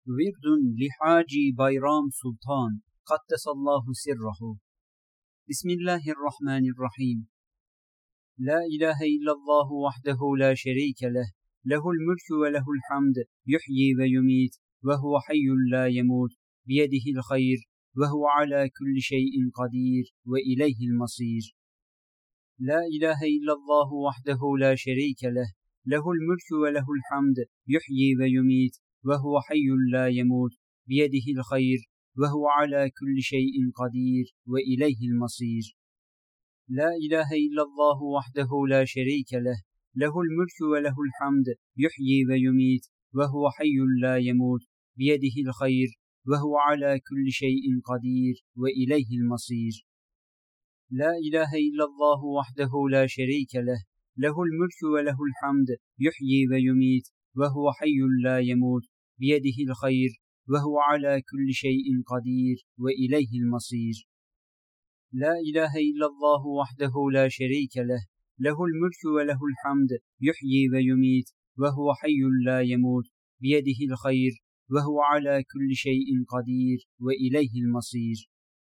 ورد لحاجي بيرام سلطان قدس الله سره. بسم الله الرحمن الرحيم. لا إله إلا الله وحده لا شريك له، له الملك وله الحمد، يحيي ويميت وهو حي لا يموت، بيده الخير وهو على كل شيء قدير وإليه المصير. لا إله إلا الله وحده لا شريك له، له الملك وله الحمد، يحيي ويميت وهو حي لا يموت، بيده الخير وهو على كل شيء قدير وإليه المصير. لا إله إلا الله وحده لا شريك له، له الملك وله الحمد، يحيي ويميت وهو حي لا يموت، بيده الخير وهو على كل شيء قدير وإليه المصير. لا إله إلا الله وحده لا شريك له، له الملك وله الحمد، يحيي ويميت وهو حي لا يموت، بيده الخير وهو على كل شيء قدير وإليه المصير. لا إله إلا الله وحده لا شريك له، له الملك وله الحمد، يحيي ويميت وهو حي لا يموت، بيده الخير وهو على كل شيء قدير وإليه المصير.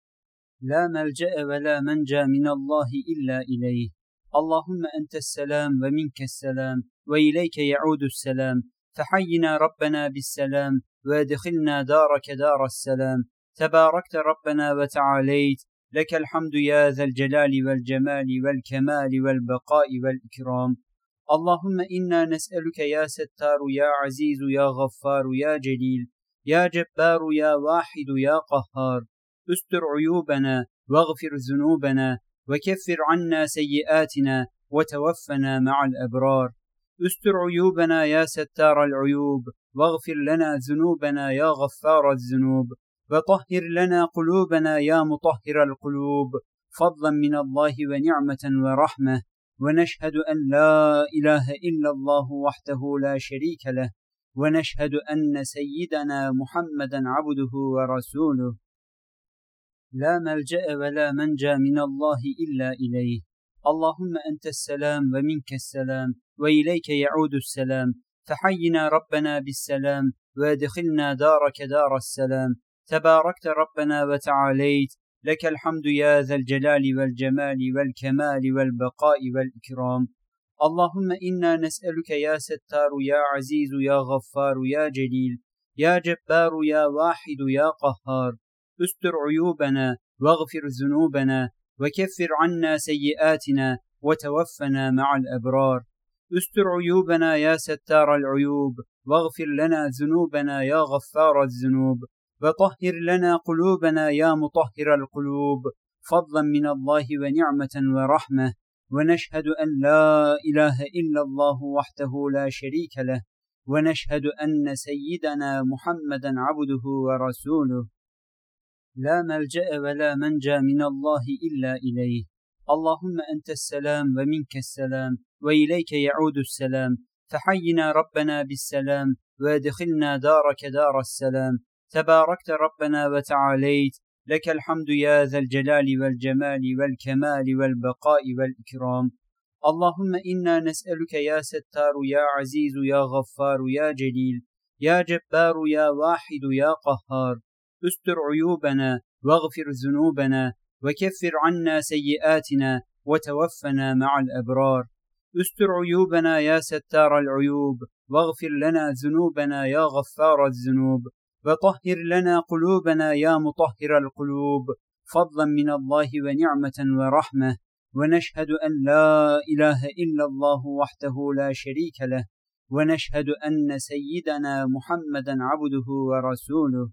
لا ملجأ ولا منجى من الله إلا إليه. اللهم أنت السلام ومنك السلام وإليك يعود السلام، فحينا ربنا بالسلام وادخلنا دارك دار السلام. تباركت ربنا وتعاليت، لك الحمد يا ذا الجلال والجمال والكمال والبقاء والإكرام. اللهم إنا نسألك يا ستار يا عزيز يا غفار يا جليل يا جبار يا واحد يا قهار، استر عيوبنا واغفر ذنوبنا وكفر عنا سيئاتنا وتوفنا مع الأبرار. استر عيوبنا يا ستار العيوب، واغفر لنا ذنوبنا يا غفار الذنوب، وطهر لنا قلوبنا يا مطهر القلوب، فضلا من الله ونعمة ورحمة. ونشهد أن لا إله إلا الله وحده لا شريك له، ونشهد أن سيدنا محمدا عبده ورسوله. لا ملجأ ولا منجى من الله إلا إليه. اللهم أنت السلام ومنك السلام وإليك يعود السلام، فحينا ربنا بالسلام وادخلنا دارك دار السلام. تباركت ربنا وتعاليت، لك الحمد يا ذا الجلال والجمال والكمال والبقاء والإكرام. اللهم إنا نسألك يا ستار يا عزيز يا غفار يا جليل يا جبار يا واحد يا قهار، استر عيوبنا واغفر ذنوبنا وكفر عنا سيئاتنا وتوفنا مع الأبرار. استر عيوبنا يا ستار العيوب، واغفر لنا ذنوبنا يا غفار الذنوب، وطهر لنا قلوبنا يا مطهر القلوب، فضلا من الله ونعمة ورحمة. ونشهد أن لا إله إلا الله وحده لا شريك له، ونشهد أن سيدنا محمدا عبده ورسوله. لا ملجأ ولا منجى من الله إلا إليه. اللهم أنت السلام ومنك السلام وإليك يعود السلام، فحينا ربنا بالسلام وادخلنا دارك دار السلام. تباركت ربنا وتعاليت، لك الحمد يا ذا الجلال والجمال والكمال والبقاء والإكرام. اللهم إنا نسألك يا ستار يا عزيز يا غفار يا جليل يا جبار يا واحد يا قهار، استر عيوبنا واغفر ذنوبنا وكفر عنا سيئاتنا وتوفنا مع الأبرار. استر عيوبنا يا ستار العيوب، واغفر لنا ذنوبنا يا غفار الذنوب، وطهر لنا قلوبنا يا مطهر القلوب، فضلا من الله ونعمة ورحمة. ونشهد أن لا إله إلا الله وحده لا شريك له، ونشهد أن سيدنا محمدا عبده ورسوله.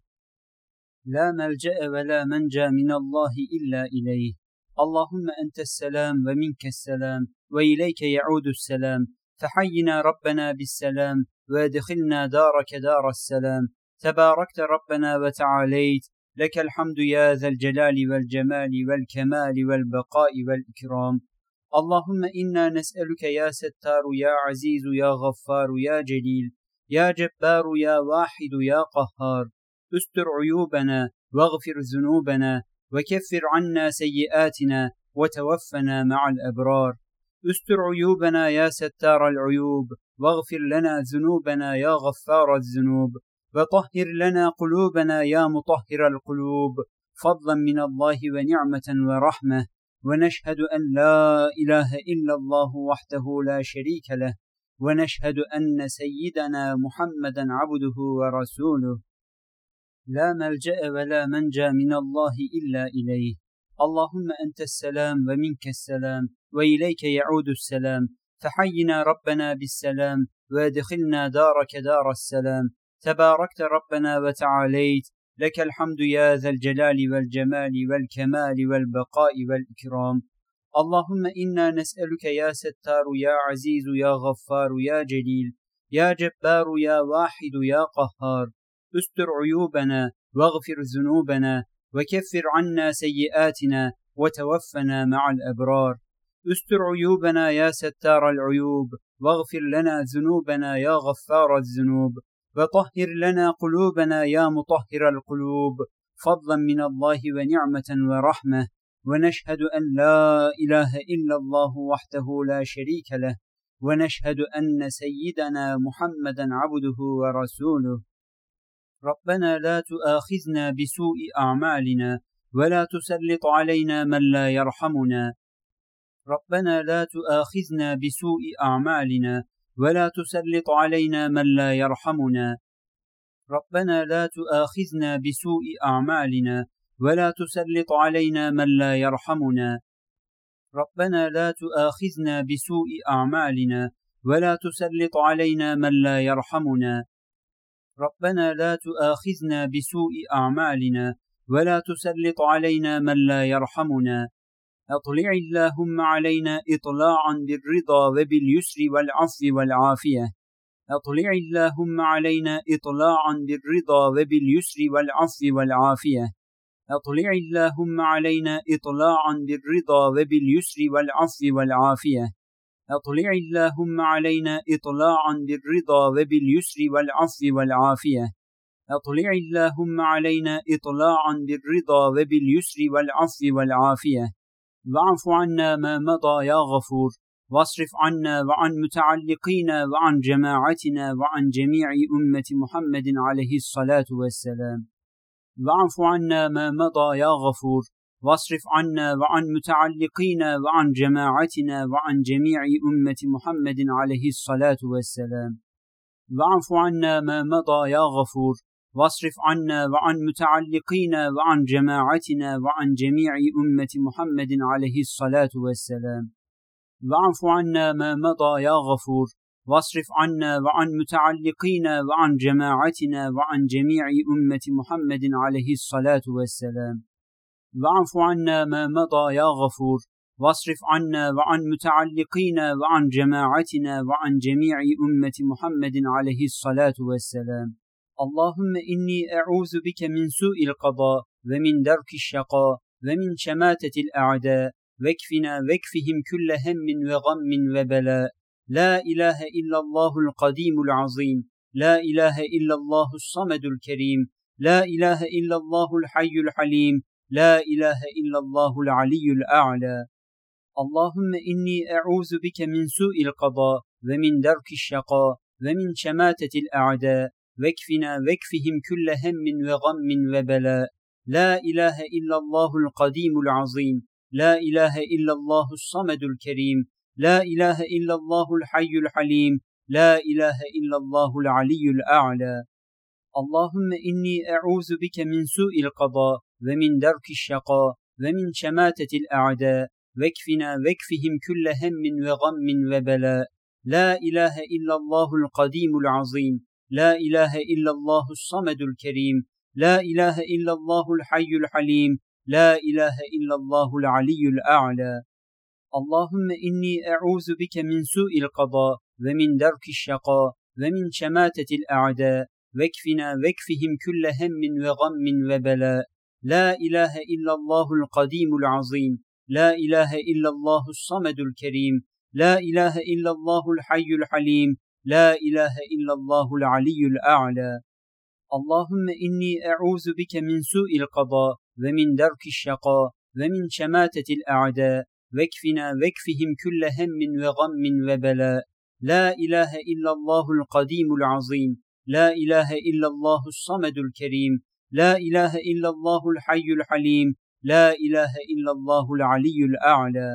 لا ملجأ ولا منجى من الله إلا إليه. اللهم أنت السلام ومنك السلام وإليك يعود السلام، فحينا ربنا بالسلام وادخلنا دارك دار السلام. تباركت ربنا وتعاليت، لك الحمد يا ذا الجلال والجمال والكمال والبقاء والإكرام. اللهم إنا نسألك يا ستار يا عزيز يا غفار يا جليل يا جبار يا واحد يا قهار، استر عيوبنا واغفر ذنوبنا وكفر عنا سيئاتنا وتوفنا مع الأبرار. استر عيوبنا يا ستار العيوب، واغفر لنا ذنوبنا يا غفار الذنوب، وطهر لنا قلوبنا يا مطهر القلوب فضلا من الله ونعمة ورحمة ونشهد أن لا إله إلا الله وحده لا شريك له ونشهد أن سيدنا محمدا عبده ورسوله لا ملجأ ولا منجى من الله إلا إليه اللهم أنت السلام ومنك السلام وإليك يعود السلام فحينا ربنا بالسلام وادخلنا دارك دار السلام تباركت ربنا وتعاليت لك الحمد يا ذا الجلال والجمال والكمال والبقاء والإكرام اللهم إنا نسألك يا ستار يا عزيز يا غفار يا جليل يا جبار يا واحد يا قهار استر عيوبنا واغفر ذنوبنا وكفر عنا سيئاتنا وتوفنا مع الأبرار استر عيوبنا يا ستار العيوب واغفر لنا ذنوبنا يا غفار الذنوب وطهر لنا قلوبنا يا مطهر القلوب فضلا من الله ونعمة ورحمة ونشهد أن لا إله إلا الله وحده لا شريك له ونشهد أن سيدنا محمدا عبده ورسوله ربنا لا تؤاخذنا بسوء أعمالنا ولا تسلط علينا من لا يرحمنا ربنا لا تؤاخذنا بسوء أعمالنا ولا تسلط علينا من لا يرحمنا ربنا لا تؤاخذنا بسوء أعمالنا ولا تسلط علينا من لا يرحمنا ربنا لا تؤاخذنا بسوء أعمالنا ولا تسلط علينا من لا يرحمنا ربنا لا تؤاخذنا بسوء أعمالنا ولا تسلط علينا من لا يرحمنا أطلع اللهم علينا إطلاعا بالرضا وباليسر والعفو والعافية أطلع اللهم علينا إطلاعا بالرضا وباليسر والعفو والعافية أطلع اللهم علينا إطلاعا بالرضا وباليسر والعفو والعافية أطلع اللهم علينا إطلاعا بالرضا وباليسر والعفو والعافية أطلع اللهم علينا إطلاعا بالرضا وباليسر والعفو والعافية واعف عنا ما مضى يا غفور واصرف عنا وعن متعلقينا وعن جماعتنا وعن جميع أمة محمد عليه الصلاة والسلام واعف عنا ما مضى يا غفور واصرف عنا وعن متعلقينا وعن جماعتنا وعن جميع أمة محمد عليه الصلاة والسلام واعف عنا ما مضى يا غفور واصرف عنا وعن متعلقينا وعن جماعتنا وعن جميع أمة محمد عليه الصلاة والسلام واعف عنا ما مضى يا غفور واصرف عنا وعن متعلقينا وعن جماعتنا وعن جميع أمة محمد عليه الصلاة والسلام واعف عنا ما مضى يا غفور واصرف عنا وعن متعلقينا وعن جماعتنا وعن جميع أمة محمد عليه الصلاة والسلام اللهم إني أعوذ بك من سوء القضاء ومن درك الشقاء ومن شماتة الأعداء واكفهم كل هم وغم وبلاء لا إله إلا الله القديم العظيم لا إله إلا الله الصمد الكريم لا إله إلا الله الحي الحليم لا إله إلا الله العلي الأعلى اللهم إني أعوذ بك من سوء القضاء ومن درك الشقاء ومن شماتة الأعداء واكفهم كل هم وغم وبلاء لا إله إلا الله القديم العظيم لا إله إلا الله الصمد الكريم لا إله إلا الله الحي الحليم لا إله إلا الله العلي الأعلى اللهم إني أعوذ بك من سوء القضاء ومن درك الشقاء ومن شماتة الأعداء واكفهم كل هم وغم وبلاء لا إله إلا الله القديم العظيم لا إله إلا الله الصمد الكريم لا إله إلا الله الحي الحليم لا إله إلا الله العلي الأعلى اللهم إني أعوذ بك من سوء القضاء ومن درك الشقاء ومن شماتة الأعداء واكفهم كل هم وغم وبلاء لا إله إلا الله القديم العظيم لا إله إلا الله الصمد الكريم لا إله إلا الله الحي الحليم لا إله إلا الله العلي الأعلى اللهم إني أعوذ بك من سوء القضاء ومن درك الشقاء ومن شماتة الأعداء واكفهم كل هم وغم وبلاء لا إله إلا الله القديم العظيم لا إله إلا الله الصمد الكريم، لا إله إلا الله الحي الحليم، لا إله إلا الله العلي الأعلى.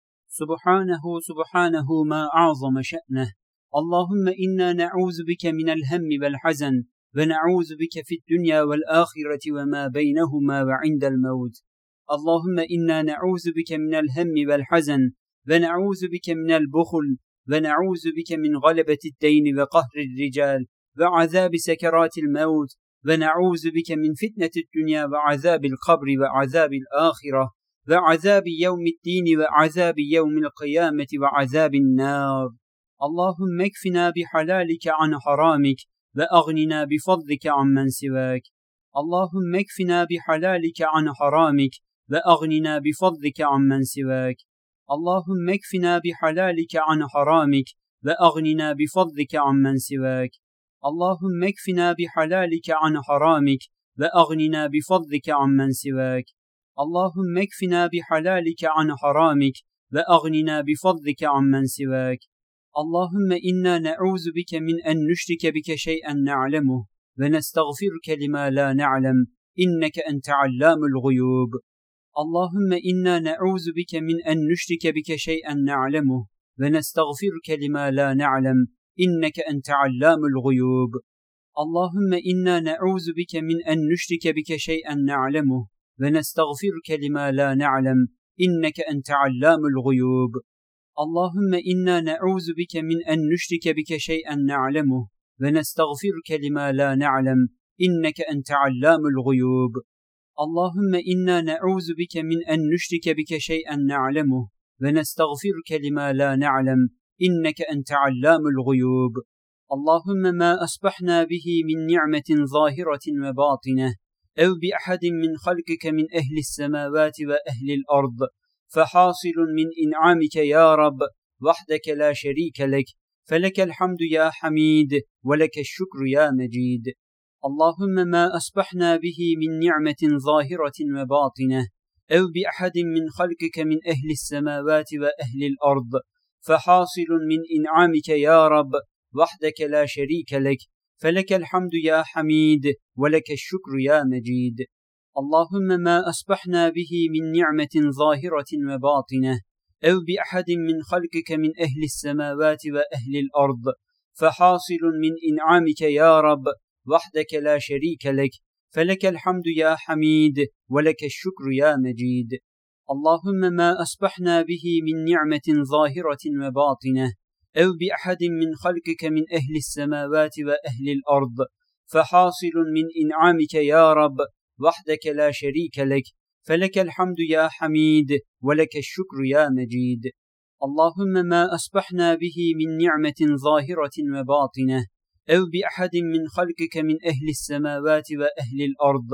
سبحانه ما أعظم شأنه. اللهم إنا نعوذ بك من الهم والحزن، ونعوذ بك في الدنيا والآخرة وما بينهما وعند الموت. اللهم إنا نعوذ بك من الهم والحزن، ونعوذ بك من البخل، ونعوذ بك من غلبة الدين وقهر الرجال وعذاب سكرات الموت، ونعوذ بك من فتنة الدنيا وعذاب القبر وعذاب الآخرة وعذاب يوم الدين وعذاب يوم القيامة وعذاب النار. اللهم اكفنا بحلالك عن حرامك، وأغننا بفضلك عمن سواك. اللهم اكفنا بحلالك عن حرامك، وأغننا بفضلك عمن سواك. اللهم اكفنا بحلالك عن حرامك، وأغننا بفضلك عمن سواك. اللهم اكفنا بحلالك عن حرامك، وأغننا بفضلك عمن سواك. اللهم اكفنا بحلالك عن حرامك، وأغننا بفضلك عمن سواك. اللهم إنا نعوذ بك من أن نشرك بك شيئا نعلمه، ونستغفرك لما لا نعلم، إنك أنت علام الغيوب. اللهم إنا نعوذ بك من أن نشرك بك شيئا نعلمه، ونستغفرك لما لا نعلم، إنك أنت علام الغيوب. اللهم إنا نعوذ بك من أن نشرك بك شيئا نعلمه، ونستغفرك لما لا نعلم، إنك أنت علام الغيوب. اللهم إنا نعوذ بك من أن نشرك بك شيئا نعلمه، ونستغفرك لما لا نعلم، إنك أنت علام الغيوب. اللهم إنا نعوذ بك من أن نشرك بك شيئا نعلمه، ونستغفرك لما لا نعلم، إنك أنت علام الغيوب. اللهم ما أصبحنا به من نعمة ظاهرة وباطنة، أو بأحد من خلقك من أهل السماوات وأهل الأرض، فحاصل من إنعامك يا رب وحدك لا شريك لك، فلك الحمد يا حميد، ولك الشكر يا مجيد. اللهم ما أصبحنا به من نعمة ظاهرة وباطنة، أو بأحد من خلقك من أهل السماوات وأهل الأرض، فحاصل من إنعامك يا رب وحدك لا شريك لك، فلك الحمد يا حميد، ولك الشكر يا مجيد. اللهم ما أصبحنا به من نعمة ظاهرة وباطنة، أو بأحد من خلقك من أهل السماوات وأهل الأرض، فحاصل من إنعامك يا رب وحدك لا شريك لك، فلك الحمد يا حميد، ولك الشكر يا مجيد. اللهم ما أصبحنا به من نعمة ظاهرة وباطنة، أو بأحد من خلقك من أهل السماوات وأهل الأرض، فحاصل من إنعامك يا رب وحدك لا شريك لك، فلك الحمد يا حميد، ولك الشكر يا مجيد. اللهم ما أصبحنا به من نعمة ظاهرة وباطنة، أو بأحد من خلقك من أهل السماوات وأهل الأرض،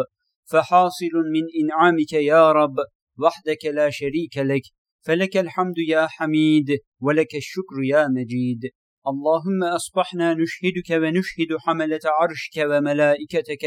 فحاصل من إنعامك يا رب وحدك لا شريك لك، فلك الحمد يا حميد، ولك الشكر يا مجيد. اللهم أصبحنا نشهدك ونشهد حملة عرشك وملائكتك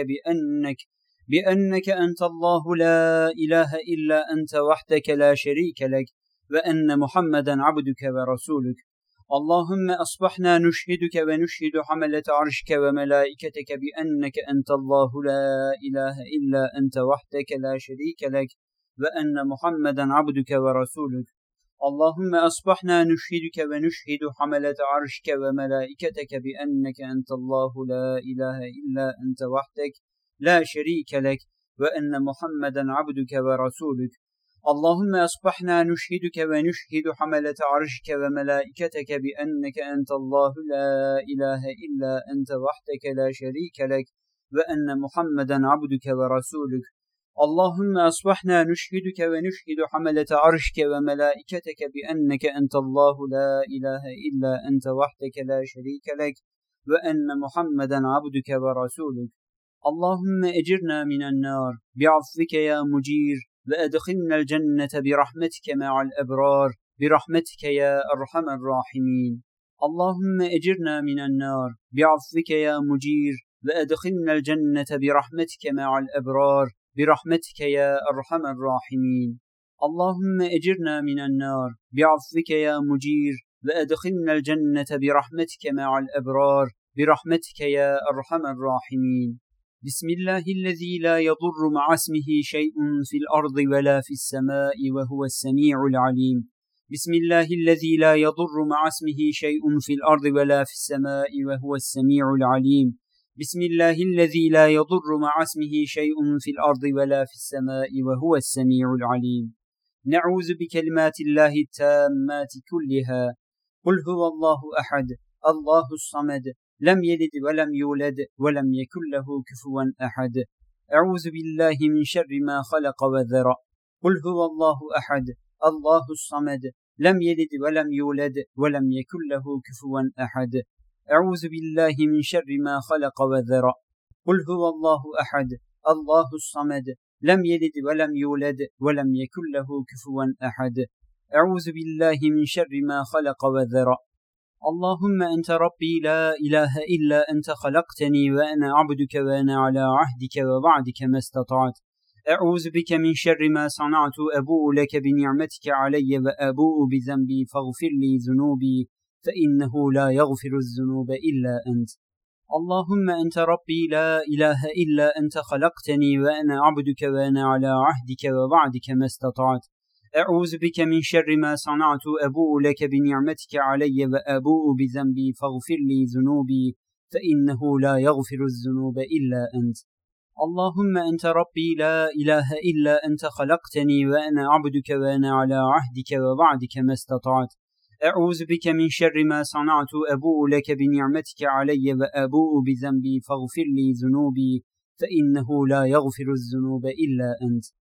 بأنك أنت الله لا إله إلا أنت وحدك لا شريك لك، وأن محمدا عبدك ورسولك. اللهم أصبحنا نشهدك ونشهد حملة عرشك وملائكتك بأنك أنت الله لا إله إلا أنت وحدك لا شريك لك، وأن محمدا عبدك ورسولك. اللهم أصبحنا نشهدك ونشهد حملة عرشك وملائكتك بأنك أنت الله لا إله إلا أنت وحدك لا شريك لك، وأن محمدا عبدك ورسولك. اللهم أصبحنا نشهدك ونشهد حملة عرشك وملائكتك بأنك أنت الله لا إله إلا أنت وحدك لا شريك لك، وأن محمدا عبدك ورسولك. اللهم أصبحنا نشهدك ونشهد حملة عرشك وملائكتك بأنك أنت الله لا إله إلا أنت وحدك لا شريك لك، وأن محمدا عبدك ورسولك. اللهم أجرنا من النار بعفوك يا مجير، وأدخلنا الجنة برحمتك مع الأبرار، برحمتك يا أرحم الراحمين. اللهم أجرنا من النار بعفوك يا مجير، وأدخلنا الجنة برحمتك مع الأبرار، برحمتك يا أرحم الراحمين. اللهم أجرنا من النار بعفوك يا مجير، وأدخلنا الجنة برحمتك مع الأبرار، برحمتك يا أرحم الراحمين. بسم الله الذي لا يضر مع اسمه شيء في الأرض ولا في السماء وهو السميع العليم. بسم الله الذي لا يضر مع اسمه شيء في الأرض ولا في السماء وهو السميع العليم. بسم الله الذي لا يضر مع اسمه شيء في الأرض ولا في السماء وهو السميع العليم. نعوذ بكلمات الله التامات كلها. قل هو الله أحد الله الصمد لم يلد ولم يولد ولم يكن له كفوا أحد. أعوذ بالله من شر ما خلق وذرأ. قل هو الله أحد الله الصمد لم يلد ولم يولد ولم يكن له كفوا أحد. أعوذ بالله من شر ما خلق وذرأ. قل هو الله أحد الله الصمد لم يلد ولم يولد ولم يكن له كفوا أحد. أعوذ بالله من شر ما خلق وذرأ. اللهم أنت ربي لا إله إلا أنت خلقتني وأنا عبدك وأنا على عهدك ووعدك ما استطعت. أعوذ بك من شر ما صنعت أبوء لك بنعمتك علي وأبوء بذنبي فاغفر لي ذنوبي فإنه لا يغفر الذنوب إلا أنت. اللهم أنت ربي لا إله إلا أنت خلقتني وأنا عبدك وأنا على عهدك ووعدك ما استطعت. أعوذ بك من شر ما صنعت أبوء لك بنعمتك علي وأبوء بذنبي فاغفر لي ذنوبي فإنه لا يغفر الذنوب إلا أنت. اللهم أنت ربي لا إله إلا أنت خلقتني وأنا عبدك وأنا على عهدك ووعدك ما استطعت. أعوذ بك من شر ما صنعت أبوء لك بنعمتك علي وأبوء بذنبي فاغفر لي ذنوبي فإنه لا يغفر الذنوب إلا أنت. اللهم أنت ربي لا إله إلا أنت خلقتني وأنا عبدك وأنا على عهدك ووعدك ما استطعت. أعوذ بك من شر ما صنعت أبوء لك بنعمتك علي وأبوء بذنبي فاغفر لي ذنوبي فإنه لا يغفر الذنوب إلا أنت.